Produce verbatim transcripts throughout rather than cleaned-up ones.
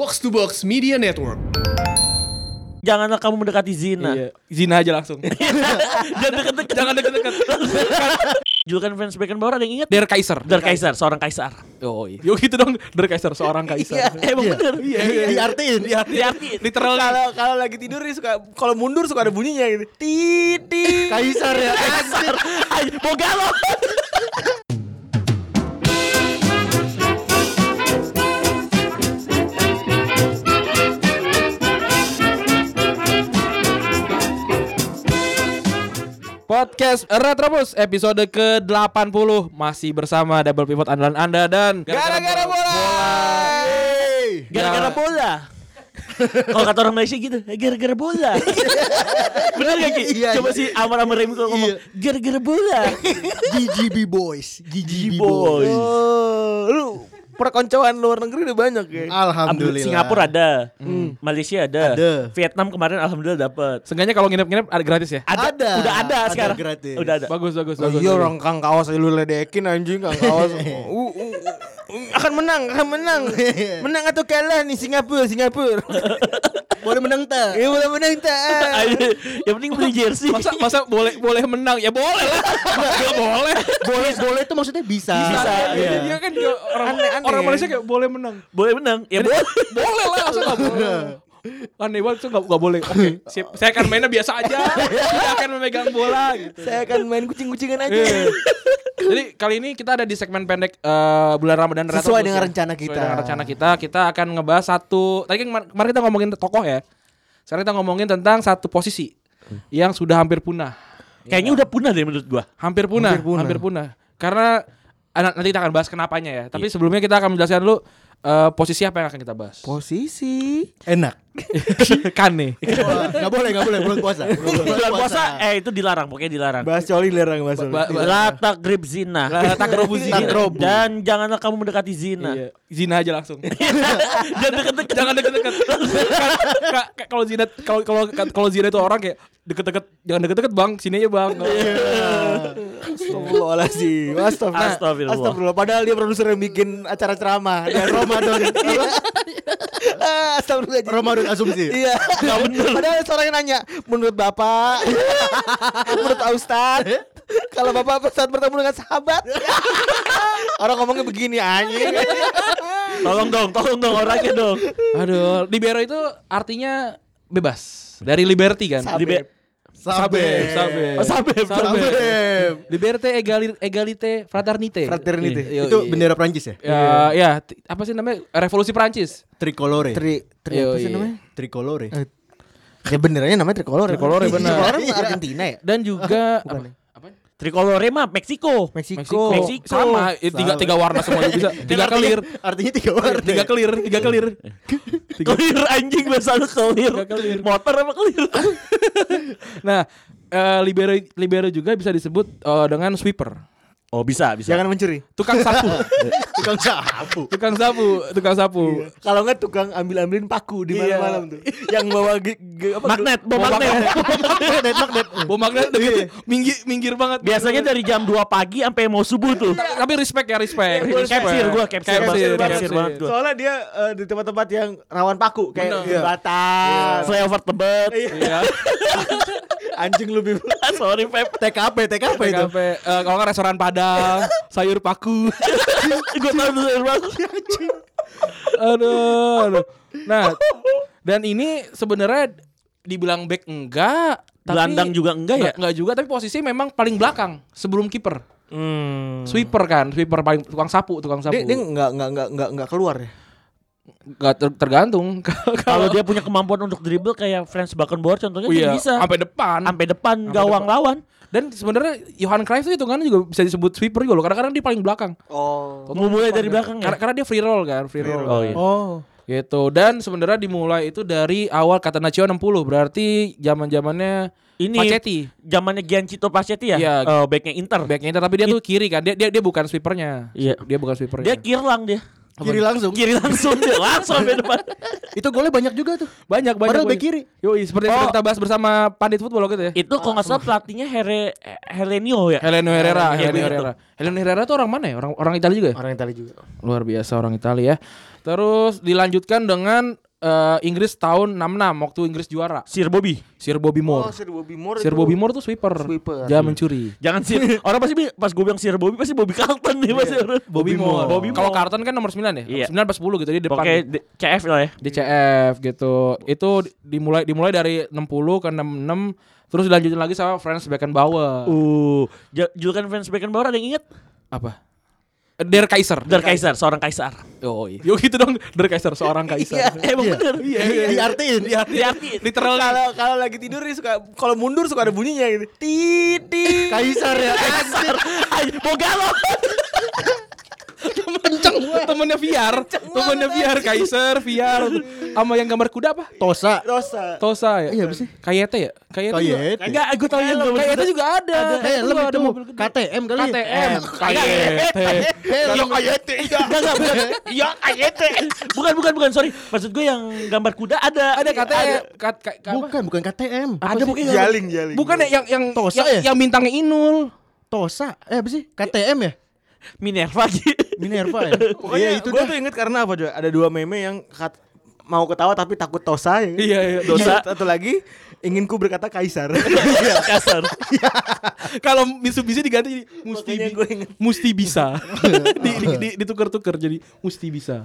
Box to Box Media Network. Janganlah kamu mendekati zina. Iya. Zina aja langsung. Jangan deket-deket. Jangan deket-deket. Julukan Franz Beckenbauer ada yang ingat? Der Kaiser. Der Kaiser, seorang kaisar. Oh iya. Yo gitu dong, Der Kaiser seorang kaisar. Iya, emang bener. Iya, iya. Diartiin. Diartiin. Literal. Kalau kalau lagi tidur nih suka kalau mundur suka ada bunyinya gitu. Titit. Kaisar ya. Kaisar. Ayo, mau galau. Podcast Retrobus episode ke delapan puluh masih bersama Double Pivot andalan Anda dan Gara-gara bola. Gara-gara bola. Kalau kata orang Malaysia gitu, gara-gara bola. Bener gak Ki? Iya, Coba iya. si Amar Amar Remi kalau ngomong gara-gara bola. G G B Boys. G G B Boys. Boys. Oh, lu perkoncoan luar negeri udah banyak ya. Alhamdulillah. Singapura ada, Malaysia ada, Ada. Vietnam kemarin alhamdulillah dapat. Seenggaknya kalau nginep-nginep ada gratis ya? Ada, Ada. udah ada, Ada sekarang. gratis. Udah ada. Bagus bagus Oh, bagus. iya bagus. orang Kang Kaos lu ledekin anjing Kang Kaos. Uh, uh, uh, akan menang, akan menang. Menang atau kalah nih Singapura, Singapura. Boleh menang tak? Ya boleh menang tak? Ayo, yang penting beli jersey. Masa masa boleh boleh menang ya boleh lah. Enggak boleh. Boleh boleh itu maksudnya bisa. Bisa, Iya, iya. Dia kan kayak orang Aneh-aneh. orang Malaysia kayak boleh menang. Boleh menang. Ya boleh. Boleh lah, masa enggak boleh. Aneh banget tuh enggak boleh. Oke, sip. Saya akan mainnya biasa aja. Saya akan memegang bola gitu. Saya akan main kucing-kucingan aja. Iya. Jadi kali ini kita ada di segmen pendek uh, bulan Ramadan Retro Sesuai Bus dengan ya. rencana kita. Sesuai dengan rencana kita, kita akan ngebahas satu. Tadi kan kemar- kemarin kita ngomongin tokoh ya. Sekarang kita ngomongin tentang satu posisi yang sudah hampir punah. Kayaknya udah punah deh menurut gua. Hampir punah, Hampir punah. hampir punah. Karena ah, nanti kita akan bahas kenapanya ya. Tapi sebelumnya kita akan menjelaskan dulu uh, posisi apa yang akan kita bahas. Posisi Enak. Kan nih. Enggak boleh, enggak boleh bulan puasa. Bulan puasa eh itu dilarang, pokoknya dilarang. bahas coli lerang bahas coli. Ba- ba- La takrib zina. La taqrabu zina. Taqrabu. Dan janganlah kamu mendekati zina. Iya, zina aja langsung. Jangan deket-deket. Jangan deket-deket. Kan- ka- ka- Kalau zina kalau kalau kalau zina itu orang kayak deket-deket, jangan deket-deket Bang, sini aja Bang. Astagfirullahaladzim. Astagfirullah. Astagfirullah. Astagfirullah. Padahal dia produser yang bikin acara ceramah dan Ramadan. Ah, Astagfirullah. Ramadan asumsi. Iya. Padahal seorang yang nanya, menurut Bapak, menurut Pak Ustadz, kalau Bapak saat bertemu dengan sahabat, orang ngomongnya begini anjing. Tolong dong, tolong dong orangnya dong. Aduh, libero itu artinya bebas. Dari liberty kan? Libe- Sabep, sabep. Oh, sabep, Sabep. Liberté, egali- égalité, fraternité. Fraternity. Iya, Itu iya. bendera Prancis ya? Ya, ya, t- apa sih namanya? Revolusi Prancis. Tricolore. Tri, tri Yo, apa sih iya. namanya? Tricolore. Eh, Ya benernya namanya tricolore. Tricolore, bener. Tricolore kan Argentina ya? Dan juga Bukan apa? ya? Apa? Tricolore mah Meksiko. Meksiko. Meksiko. Sama, eh, tiga tiga warna semuanya bisa. Tiga kelir. Artinya tiga warna. Tiga kelir, tiga kelir. Kelir anjing bahasa lu kelir. Tiga kelir. Motor apa kelir? Nah, eh, libero libero juga bisa disebut eh, dengan sweeper. Oh bisa, bisa. Jangan mencuri. Tukang sapu. Tukang sapu. Tukang sapu, tukang sapu. Kalau enggak tukang ambil-ambilin paku di Iya. malam-malam tuh. Yang bawa ge- ge- apa? Magnet, bom Bom magnet. Magnet, magnet. Bom magnet gitu. Minggir minggir banget. Biasanya dari jam dua pagi sampai mau subuh tuh. Tapi respect ya, respect. Capsir gua, capsir, Capsir, capsir capsir. banget gua. Soalnya dia eh, di tempat-tempat yang rawan paku kayak Bener. Batas. Flyover Tebet. Iya. Anjing lu Bim. Sorry Pep. T K P, T K P itu. T K P, eh, kalau nggak restoran Padang, sayur paku. Gue tahu tuh dari mana. Aduh, aduh. Nah, dan ini sebenarnya dibilang back enggak, tapi Gelandang juga enggak ya? Enggak, enggak juga, tapi posisi memang paling belakang sebelum kiper. Hmm. Sweeper kan, sweeper paling tukang sapu, tukang sapu. Dia, dia enggak enggak enggak enggak enggak keluar ya. Enggak ter- tergantung. Kalau dia punya kemampuan untuk dribble kayak Franz Beckenbauer contohnya Oh, dia iya, bisa. sampai depan. Sampai depan Sampai gawang depan. lawan. Dan sebenarnya Johan Cruyff itu kan juga bisa disebut sweeper juga loh. Kadang-kadang dia paling belakang. Oh. Mau mulai dari belakang ya? Karena, karena dia free roll kan, free roll. Oh iya. Oh. Gitu. Dan sebenarnya dimulai itu dari awal Catenaccio enam puluh. Berarti zaman-zamannya Ini Pacetti. zamannya Giancito Pacetti ya? Iya. Eh, backnya Inter. Backnya Inter, tapi dia tuh kiri kan. Dia dia dia bukan sweepernya. Iya. Dia bukan sweepernya. Dia kirlang dia. Kiri langsung. Kiri langsung dia langsung sampai depan. Itu golnya banyak juga tuh. Banyak banyak. Padahal banyak. bek kiri. Yoi, seperti yang Oh. sudah kita bahas bersama pandit football gitu ya. Itu kalau nggak salah pelatihnya Here Helenio ya. Heleno Herrera, Iya, Heleno begitu. Herrera. Heleno Herrera tuh orang mana ya? Orang orang Italia juga ya? Orang Italia juga. Luar biasa orang Italia ya. Terus dilanjutkan dengan eh, Inggris tahun enam puluh enam waktu Inggris juara. Sir Bobby. Sir Bobby Oh, Moore. Sir Bobby Moore. Sir itu- Bobby Moore tuh sweeper. Sweeper. Dia mencuri. Jangan sih. Orang pasti bi- pas gue bilang Sir Bobby pasti Bobby Carlton nih pasti orang. Bobby Moore. Bobby Kalau Moore. Carlton kan nomor sembilan ya? Iya. sembilan pas sepuluh gitu di depan. Oke, D- C F lah ya. D C F gitu. Itu dimulai dimulai dari enam puluh ke enam puluh enam terus dilanjutin lagi sama Franz Beckenbauer. Uh, j- julukan Franz Beckenbauer ada yang inget? Apa? Der Kaiser. Der Kaiser, seorang kaisar. Oh, iya. Yo gitu dong, Der Kaiser seorang kaisar. Emang bener. Iya, iya. Diartiin. Diartiin. Literal Kalau kalau lagi tidur nih suka kalau mundur suka ada bunyinya gitu. Tit tit. Kaisar ya. Kaisar. Ay, mau galau. kenceng temennya V R, temennya V R Kaiser V R sama yang gambar kuda apa? Tosa. Dosa. Tosa ya? Iya, apa sih? Kayete ya? Kayete juga. Kayete. Enggak, gue tahu yang gambar Kayete kuda. juga ada. Helm Ada itu mobil gede. K T M kali. K T M. Kayete. Iya kayete. Enggak, enggak, bukan. Iya kayete. Bukan, bukan, bukan, sorry. Maksud gue yang gambar kuda ada. Ada K T M. Ka- ka- ka- apa? Bukan, bukan K T M. Ada pokoknya. Jaling jaling. Bukan ya yang yang Tosa yang, ya? yang bintangnya Inul. Tosa. Eh apa sih? K T M ya? Minerva gitu. Minerva ya? Pokoknya Iya, itu itu gue dah. tuh inget karena apa juga? Ada dua meme yang kat- mau ketawa tapi takut tosa ya. Iya, iya. Dosa. Satu lagi ingin ku berkata kaisar. Kasar. Kalau Mitsubishi diganti jadi musti Makanya bi- gue inget. musti bisa. di, di, di, ditukar-tukar jadi musti bisa.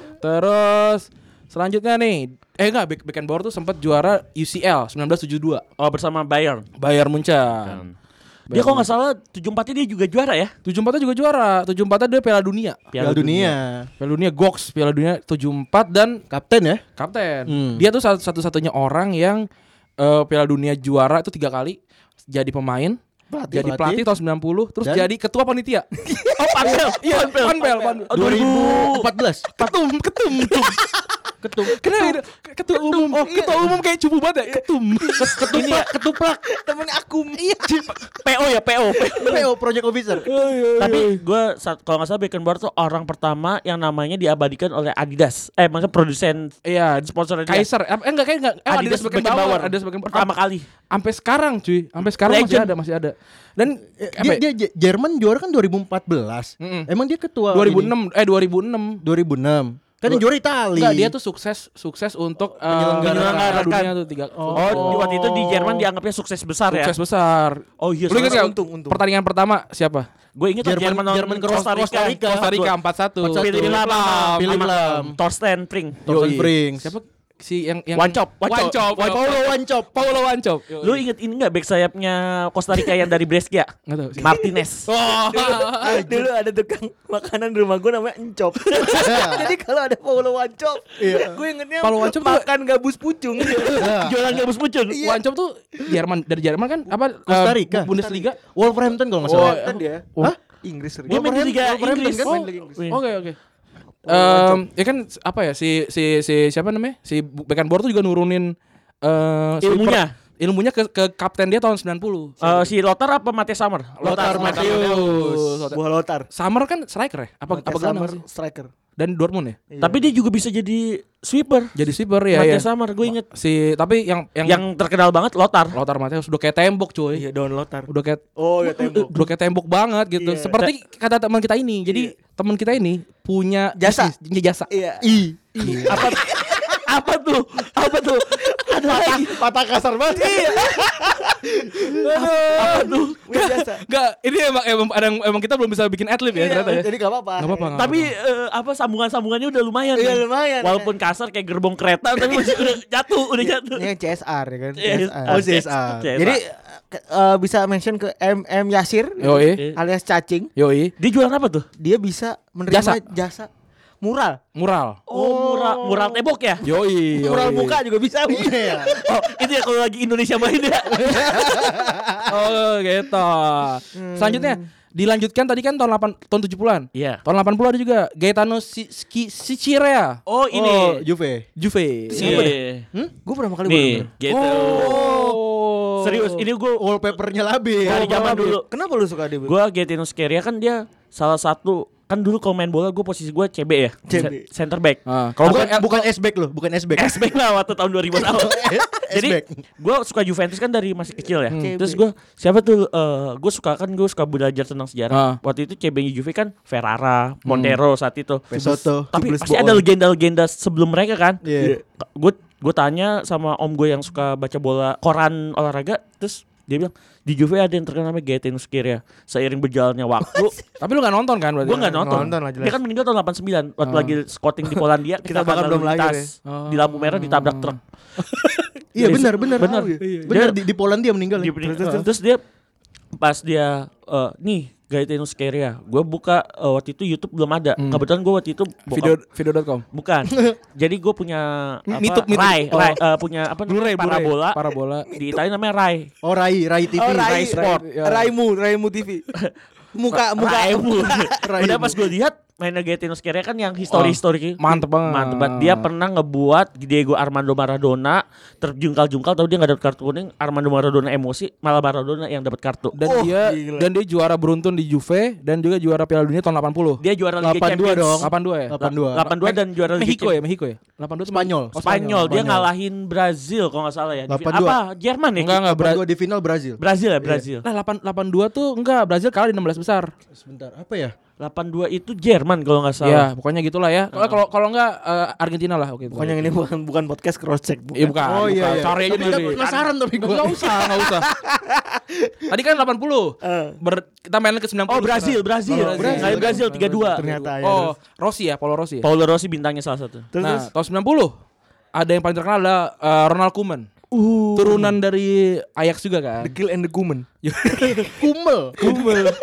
Terus selanjutnya nih, eh enggak Beck- Beckenbauer tuh sempat juara U C L sembilan belas tujuh puluh dua. Oh, bersama Bayern. Bayern Munchen. Dia kalau nggak salah tujuh puluh empatnya dia juga juara ya. tujuh puluh empat juga juara. tujuh puluh empat dia Piala Dunia. Piala Dunia. Piala Dunia Gox, Piala Dunia tujuh puluh empat dan Kapten ya? kapten. Hmm. Dia tuh satu- satu-satunya orang yang eh, Piala Dunia juara itu tiga kali, jadi pemain, Pelatih. jadi pelatih tahun sembilan puluh, terus Dan? jadi ketua panitia. Oh, Panpel. Iya, panpel, panpel. Oh, dua ribu empat belas. Ketum, ketum, ketum. Ketum. Kenapa ini? Ketua umum. Oh, ketua umum kayak cupu banget ya. Ketum. Ini ya, Ketuplak. Temennya akum. Iya. P O ya, P O. P O Project Officer. Tapi gue kalau nggak salah Beckenbauer tuh orang pertama yang namanya diabadikan oleh Adidas. Eh, maksudnya produsen Iya, sponsor dia. Kaiser. Eh enggak kayak enggak. Eh, Adidas Beckenbauer. Adidas Beckenbauer. Pertama kali. Sampai sekarang cuy. Sampai sekarang masih Legend. ada, masih ada. Dan apa Dia, ya? dia J- Jerman juara kan dua ribu empat belas. Mm-mm. Emang dia ketua dua ribu ini? enam eh dua ribu enam. dua ribu enam. Kan yang juara Itali. Enggak, dia tuh sukses sukses untuk eh, Menyelenggarakan. Piala dunia tuh tiga. Oh, di waktu itu di Jerman dianggapnya sukses besar ya. Sukses besar. Oh iya, Lu ingat soalnya nggak untung, untung. pertandingan pertama siapa? gue inget Jerman- Jerman, Jerman, Jerman ke Costa Rica. Costa Rica. Costa Rica empat satu. Philip Lahm sama- Philip sama Lahm. Torsten Pring. Thorsten Frings. Siapa si yang yang Wancop, Wancop. Wancop. Paulo Wancop. Paulo Wancop. Lu inget ini enggak back sayapnya Costa Rica yang dari Brescia? Enggak tahu sih. Martinez. Oh. Dulu ada tukang makanan di rumah gue namanya encop. Jadi kalau ada Paulo Wancop, gue ingetnya Paulo Wancop tuh- makan gabus pucung. Jualan gabus muncul. Wancop tuh Jerman dari Jerman kan apa Costa eh, Rica. Bundesliga. Wolverhampton kalau nggak Oh, salah. Kan dia. Hah? Inggris. Dia main di Liga Wolverhampton Inggris. kan? Oh, Main Liga Inggris. iya. Oke oke. Em, ya kan apa ya si si si siapa namanya? Si Beckenbauer tuh juga nurunin eh Ilmunya. sweeper- ilmunya ke ke kapten dia tahun sembilan puluh. Eh, si Lothar apa Mate Summer? Lothar Matthäus. Buah Lothar. Summer kan striker ya? Apa apa Matthäus gelandang Summer, sih? striker. Dan Dortmund ya? Tapi dia juga bisa jadi sweeper. Jadi sweeper ya Mate ya. Summer gue inget. Si tapi yang yang, Yang terkenal banget Lothar. Lothar Matthäus udah kayak tembok cuy. Iya, Don Lothar. Udah kayak Oh, ya tembok. udah kayak tembok banget gitu. Iya. Seperti kata teman kita ini. Jadi teman kita ini punya Jasa. bisnis, punya jasa. Iya. I. Apa apa tuh? Apa tuh? Ada lagi. Patah kasar banget. Apa tuh? Punya jasa. Enggak, ini emang emang, emang, emang kita belum bisa bikin adlib ya ternyata ya. Jadi gak apa-apa. Enggak apa-apa. nggak Tapi apa-apa. eh, apa sambungan-sambungannya udah lumayan. Iya, nih. lumayan. Walaupun kasar kayak gerbong kereta tapi masih udah jatuh, udah jatuh. Ini yang C S R ya kan. Iya, C S R. Oh, C S R. C S R. Jadi eh, bisa mention ke M M Yasir Yoi, alias cacing. yoi, Dia jualan apa tuh? Dia bisa menerima Jasa. jasa, mural. mural. Oh, mural mural tembok ya? Yoi, yoi. Mural muka juga bisa. Iya. Oh, itu ya kalau lagi Indonesia main ya. Oh, gitu. Selanjutnya dilanjutkan tadi kan tahun delapan tahun tujuh puluhan. Iya. Tahun delapan puluh ada juga Gaetano Si- Ski- Sicirea, Oh, Oh, ini. Juve. Juve. Iya. Gue pertama kali Nih, baru gitu. Oh. Serius, ini gue Wallpapernya labil. dari zaman dulu. Kenapa lu suka dia? Gue Gaetano Scirea kan dia salah satu kan dulu kalau main bola gue posisi gue C B ya, C B. C- center back. Ah, Kalau kalau bukan bukan S-back loh, bukan S-back. S back lah waktu tahun dua ribu awal. Jadi S-back. gue suka Juventus kan dari masih kecil ya. Hmm. Terus gue siapa tuh? Uh, gue suka kan gue suka belajar tentang sejarah. Ah. Waktu itu C B-nya Juve kan Ferrara, Montero saat itu. Pesoto. Tapi Tubles pasti Boon. ada legenda-legenda sebelum mereka kan. Iya. Gue gue tanya sama om gue yang suka baca bola koran olahraga, terus dia bilang di Juve ada yang terkenal namanya Gaetano Scirea. Seiring berjalannya waktu, tapi lu gak nonton kan berarti? gue nggak nonton. Nonton lah jelas. Dia kan meninggal tahun delapan puluh sembilan waktu Oh. lagi scouting di Polandia. Kita kita bahkan lalu belum lahir lintas ya. di lampu merah ditabrak truk. Iya benar benar. Benar. Benar Dia- di, di Polandia meninggal. Di- ya. terus dia pas dia eh, nih Gaetano Scirea, gue buka eh, waktu itu YouTube belum ada. Hmm. Kebetulan gue waktu itu buka- Video video dot com. bukan. Jadi gue punya apa? Mituk, mituk. Rai, Oh. Rai, eh, punya apa? Blu-ray, namanya? Blu-ray. Parabola. Parabola. Di Italia namanya Rai. Oh Rai, Rai T V. Oh, Rai, Rai Sport. ya. Raimu, Raimu T V. Muka muka Raimu. Raimu. Udah pas gue lihat mainnya Gaetano Scirea kan yang histori-histori Oh, mantep banget. Mantep banget. Dia pernah ngebuat Diego Armando Maradona terjungkal-jungkal, tahu dia nggak dapat kartu kuning. Armando Maradona emosi, malah Maradona yang dapat kartu. Dan Oh, dia gila. dan dia juara beruntun di Juve dan juga juara Piala Dunia tahun delapan puluh. Dia juara Liga delapan dua Champions. dong. delapan dua ya? delapan dua. delapan dua dan juara Liga Mexico Champions. ya, Mexico ya? delapan dua itu Spanyol. Oh, Spanyol, dia Spanyol. ngalahin Brazil kalau nggak salah ya. Di delapan fin- dua. apa? Jerman ya? Enggak enggak Bra- Bra- di final Brazil. Brazil ya, Brazil. Nah, delapan delapan dua tuh enggak, Brazil kalah di enam belas besar. Sebentar, apa ya? delapan dua itu Jerman kalau nggak Ya, salah. pokoknya gitulah ya. Kalau kalau kalau enggak eh, Argentina lah oke. Pokoknya ini bukan bukan podcast cross check. Iya bukan. Oh iya, bukan. iya. Cari aja Tapi dulu. penasaran tapi gua. Enggak usah, enggak usah. Tadi kan delapan puluh. Eh. Ber, kita main ke sembilan puluh. Oh Brazil, Brazil. Oh, Brazil. Ngalahin Brazil tiga dua. Ternyata ya. Oh, Rossi ya, Paulo Rossi ya. Paulo Rossi bintangnya salah satu. Terus, Nah, terus? tahun sembilan puluh ada yang paling terkenal adalah eh, Ronald Koeman. Uh. Turunan dari Ajax juga kan. The Kill and the Gumen. Kumel. Kumel.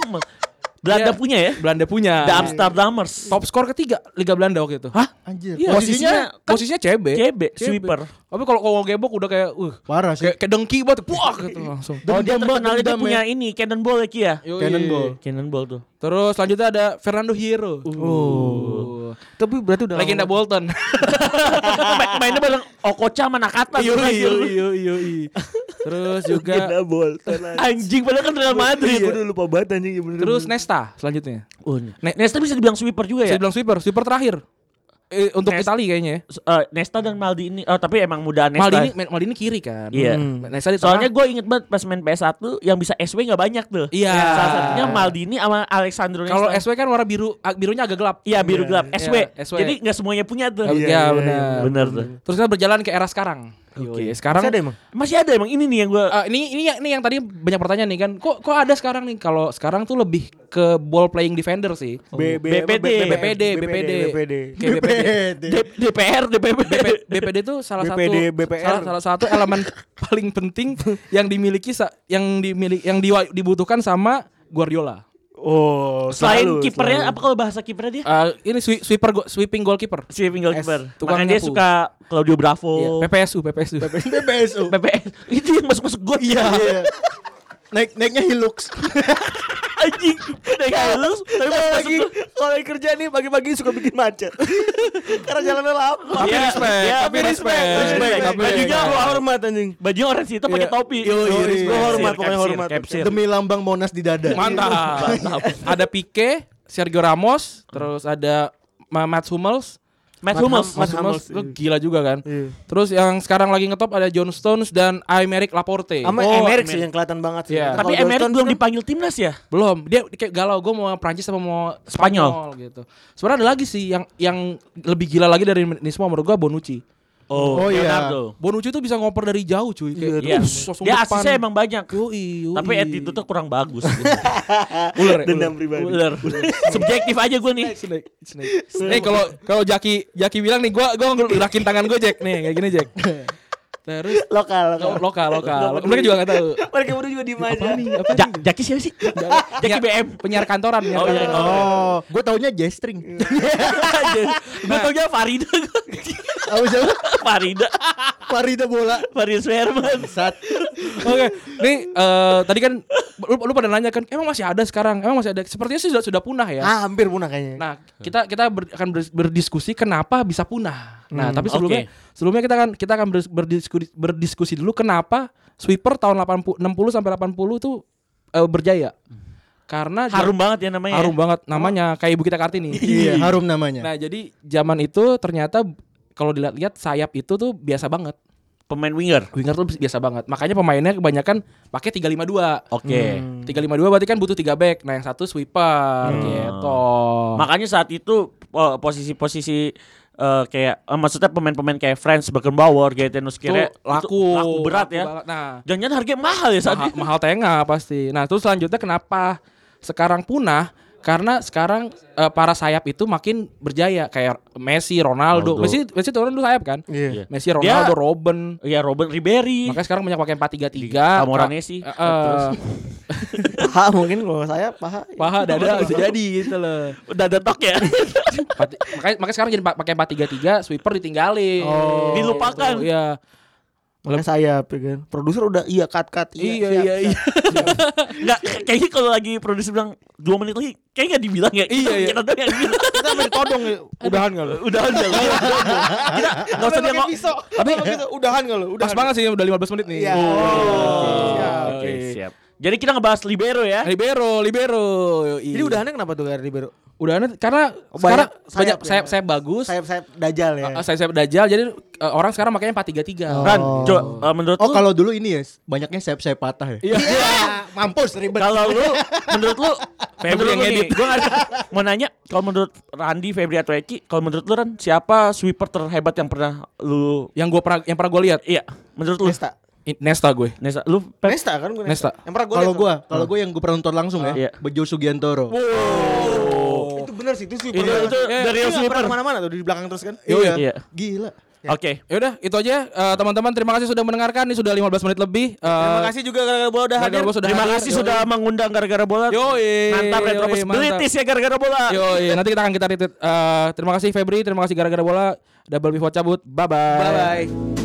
Belanda Dia- punya ya? Belanda punya. The Amsterdamers. Top skor ketiga Liga Belanda waktu itu. Hah? Anjir. Iya, Posisinya posisinya C B. C B, sweeper. Tapi kalau kalau gebok udah kayak uh parah sih. kayak, kayak dengki banget, puak gitu langsung. Oh dia Dendam, terkenal dia dendam, punya ya. ini Cannonball ya Ki ya? Yoi. Cannonball. Cannonball tuh. Terus selanjutnya ada Fernando Hierro. Oh. Tapi berarti udah Legenda lama- Bolton. Ma- Mainnya bareng Okocha sama Nakata. Yoi, terakhir. yoi, yoi, yoi. Terus juga Legenda Bolton. Anjing padahal kan Real Madrid. Gue udah lupa banget anjing. Ya bener, terus bener. Nesta selanjutnya. Oh, Nesta bisa dibilang sweeper juga ya? Saya bilang sweeper, sweeper terakhir. Eh, untuk Nesta- Itali kayaknya ya. Eh, Nesta dan Maldini. Oh tapi emang muda Nesta. Maldini Maldini kiri kan. Iya. Hmm. Nesta di Soalnya tengah. gue inget banget pas main P S satu yang bisa S W gak banyak tuh. Iya. Salah satunya Maldini sama Alexandro Nesta. Kalau S W kan warna biru, ag- birunya agak gelap. Iya biru Iya. gelap. S W. Iya, S W. Jadi gak semuanya punya tuh. Iya, Iya, iya, benar. iya, Bener tuh. Terus kita berjalan ke era sekarang. Oke, sekarang Masih ada emang? Masih ada emang ini nih yang gue. Eh, ini ini yang ini yang tadi banyak pertanyaan nih kan. Kok kok ada sekarang nih? Kalau sekarang tuh lebih ke ball playing defender sih. B- B P D. B P D, B P D. B P D. Kayak B P D. D- DPR, D P P. B P- B P D itu salah B P satu D, B P R. salah, salah satu elemen paling penting yang dimiliki sa- yang dimiliki yang di- dibutuhkan sama Guardiola. Oh, Selain selalu, kipernya selalu. apa kalau bahasa kipernya dia? Eh, ini swi- sweeper go- sweeping goalkeeper. Sweeping goalkeeper. S, tukang Makanya dia nyapu. suka Claudio Bravo. Iya, P P S U, P P S U. B P S U. P P S. Itu yang masuk-masuk gol. Iya. Naik naiknya Hilux. Anjing. Naik halus. Tapi Kalau pas lagi masuk kalau lagi kerja nih pagi-pagi suka bikin macet. Karena jalannya lama. Tapi Iya, respect, iya, tapi respect, respect, respect. tapi Bajunya respect. gua hormat anjing. baju orange itu pakai Iya. topi. Yo, yo, Yoi, respect. gua hormat, Capsir, pokoknya capsir, hormat. capsir. Demi lambang Monas di dada. Mantap. Ada Pique, Sergio Ramos, terus ada Ma- Mats Hummels. Matt Matt Hummels. Hum- Mats Hummels Hummels, itu gila juga kan. Iya. Terus yang sekarang lagi ngetop ada John Stones dan Aymeric Laporte. Sama Oh, Emerick Emerick. sih yang kelihatan banget sih. Iya. Tapi Kalau Emerick Johnston belum kan- dipanggil timnas ya? Belum, dia kayak galau gue mau Prancis apa mau Spanyol. Spanyol, gitu. Sebenarnya ada lagi sih yang yang lebih gila lagi dari ini semua menurut gue Bonucci. Oh, Oh, iya. Leonardo. Bonucci tuh bisa ngoper dari jauh cuy. Kayak, Iya. us, langsung Dia depan. asisnya emang banyak. Yoi, yoi. Tapi attitude-nya kurang bagus. ular, ya, Dendam ular. pribadi. Ular. Subjektif aja gue nih. Snake, snake. Nih kalau kalau Jaki Jaki bilang nih gua gua gerakin tangan gue Jack nih kayak gini Jack. Terus Lokal, lo- lokal. lokal lokal. Mereka juga enggak tahu. Mereka berdua juga diem aja. Apa nih? Apa Ja- nih? Jaki siapa sih? Jaki B M. Penyiar kantoran, penyiar Oh, iya. kantoran. Oh, gue taunya J-string. Gue tau nya Farida. Apa siapa? Farida. Farida bola. Farida Sherman. Sat. Oke, nih eh, tadi kan lu, lu pada nanya kan, emang masih ada sekarang? Emang masih ada? Sepertinya sih sudah sudah punah ya. Ah, hampir punah kayaknya. Nah, kita kita ber- akan ber- berdiskusi kenapa bisa punah. Nah, Hmm, tapi sebelumnya oke. sebelumnya kita akan kita akan ber- berdiskusi berdiskusi dulu kenapa sweeper tahun delapan puluh enam puluh sampai delapan puluh tuh eh, berjaya. Karena Harum banget ya namanya. harum ya? banget namanya kayak Ibu Kita Kartini. Iya, harum namanya. Nah, jadi zaman itu ternyata kalau dilihat-lihat sayap itu tuh biasa banget. Pemain winger. Winger tuh biasa banget. Makanya pemainnya kebanyakan pakai tiga lima dua. Oke. tiga lima dua berarti kan butuh tiga back. Nah, yang satu sweeper gitu. Makanya saat itu po- posisi-posisi eh, kayak eh, maksudnya pemain-pemain kayak Franz Beckenbauer, Gaetanus Kira Tuh, laku, laku berat laku ya. banget. Nah, Jangan-jangan harganya mahal ya saat mahal, itu. mahal tengah pasti. Nah, terus selanjutnya kenapa sekarang punah? Karena sekarang eh, para sayap itu makin berjaya kayak Messi, Ronaldo. Ronaldo. Messi Messi turun dulu sayap kan? Iya. Messi, Ronaldo, Dia- Robben. Ya Robben Ribery. Makanya sekarang banyak pakai empat tiga tiga. Camoranesi. Eh, eh, Paha mungkin kalau saya paha. paha dada bisa jadi gitu loh. Udah ada tok ya. Empat- makanya makanya sekarang jadi pa- pakai empat tiga tiga, sweeper ditinggalin. Oh. Dilupakan. Gitu, Iya. Makanya saya kan. Produser udah iya cut cut Iya iya iya. Enggak kayaknya kalau lagi produser bilang dua menit lagi kayaknya enggak dibilang ya. Iya, iya. Kita doang yang bilang. Kita main todong ya. Udahan enggak lu? Udah aja. Kita enggak usah dia ngomong. Tapi gitu, udahan enggak lu? Pas banget sih udah lima belas menit nih. Iya. Oh. Oke, siap. Jadi kita ngebahas libero ya. Libero, libero. Jadi udahannya kenapa tuh Gary Libero? Udahannya karena Oh, sekarang banyak banyak sayap ya? sayap sayap bagus. Sayap-sayap dajal ya. Uh, sayap-sayap dajal jadi uh, orang sekarang makanya empat tiga tiga. Ran, coba uh, menurut Oh, lu kalau dulu ini ya, banyaknya sayap-sayap patah ya. Iya. Mampus ribet. kalau lu menurut lu Febri menurut yang lu nih, ngedit. gua nggak- mau nanya kalau menurut Randi, Febri atau Eki, kalau menurut lu Ran siapa sweeper terhebat yang pernah lu Yang gua pernah yang pernah gua lihat iya, menurut lu Nesta. I- Nesta gue. Nesta, lu Pep? Nesta kan gue Nesta. Yang pernah gue Kalau gua, kalau gua yang gua pernah nonton langsung Iya. ya, Bejo Sugiantoro. itu benar sih itu sih. Itu, itu dari yang sweeper. Mana-mana tuh di belakang terus kan. Iya. Iya. Gila. Oke. Ya udah, itu aja uh, teman-teman, terima kasih sudah mendengarkan. Ini sudah lima belas menit lebih. Uh, Terima kasih juga gara-gara bola udah gara-gara hadir. bola sudah Terima hadir. kasih Yoi. sudah mengundang gara-gara bola. Yoi. Mantap Retropus Yoi, mantap. British ya gara-gara bola. Yoi, nanti kita akan kita retweet. Uh, terima kasih Febri, terima kasih gara-gara bola. Double Pivot cabut. Bye bye. Bye bye.